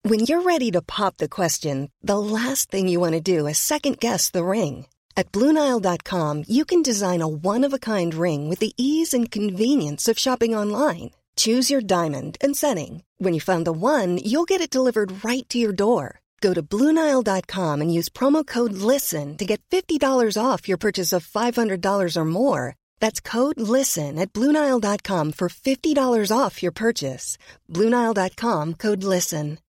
When you're ready to pop the question, the last thing you want to do is second-guess the ring. At BlueNile.com, you can design a one-of-a-kind ring with the ease and convenience of shopping online. Choose your diamond and setting. When you find the one, you'll get it delivered right to your door. Go to BlueNile.com and use promo code LISTEN to get $50 off your purchase of $500 or more. That's code LISTEN at BlueNile.com for $50 off your purchase. BlueNile.com, code LISTEN.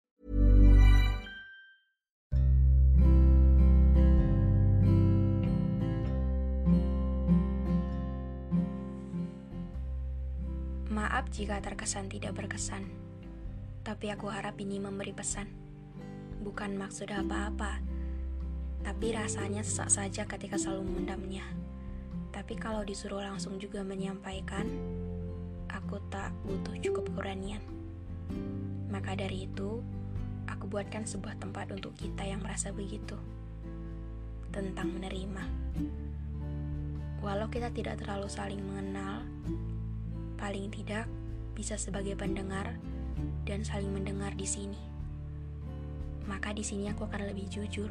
Maaf jika terkesan tidak berkesan, tapi aku harap ini memberi pesan. Bukan maksud apa-apa, tapi rasanya sesak saja ketika selalu memendamnya. Tapi kalau disuruh langsung juga menyampaikan, aku tak butuh cukup keberanian. Maka dari itu, aku buatkan sebuah tempat untuk kita yang merasa begitu. Tentang menerima. Walau kita tidak terlalu saling mengenal, paling tidak bisa sebagai pendengar dan saling mendengar di sini. Maka di sini aku akan lebih jujur.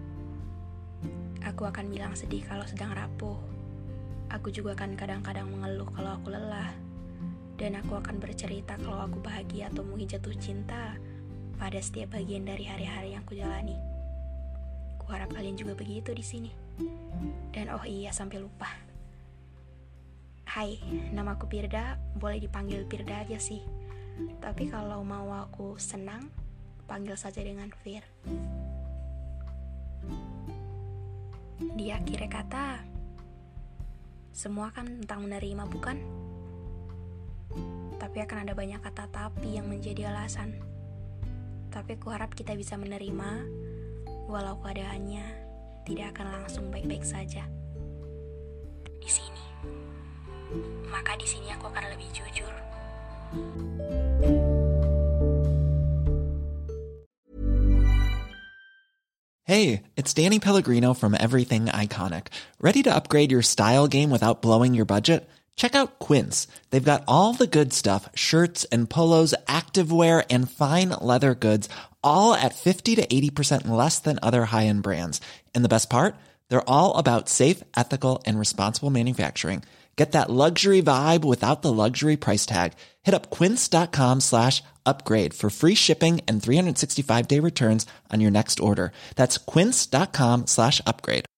Aku akan bilang sedih kalau sedang rapuh. Aku juga akan kadang-kadang mengeluh kalau aku lelah. Dan aku akan bercerita kalau aku bahagia atau mungkin jatuh cinta pada setiap bagian dari hari-hari yang kujalani. Kuharap kalian juga begitu di sini. Dan oh iya, sampai lupa. Hai, namaku Firda, boleh dipanggil Firda aja sih. Tapi kalau mau aku senang, panggil saja dengan Fir. Di akhir kata, semua kan tentang menerima, bukan? Tapi akan ada banyak kata tapi yang menjadi alasan. Tapi kuharap kita bisa menerima, walau keadaannya tidak akan langsung baik-baik saja. Di sini. Maka di sini aku akan lebih jujur. Hey, it's Danny Pellegrino from Everything Iconic. Ready to upgrade your style game without blowing your budget? Check out Quince. They've got all the good stuff, shirts and polos, activewear, and fine leather goods, all at 50 to 80% less than other high-end brands. And the best part? They're all about safe, ethical, and responsible manufacturing. Get that luxury vibe without the luxury price tag. Hit up quince.com/upgrade for free shipping and 365-day returns on your next order. That's quince.com/upgrade.